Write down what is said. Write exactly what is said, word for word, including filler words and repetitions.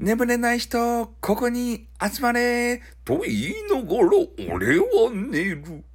眠れない人、ここに集まれと言いながら俺は寝る。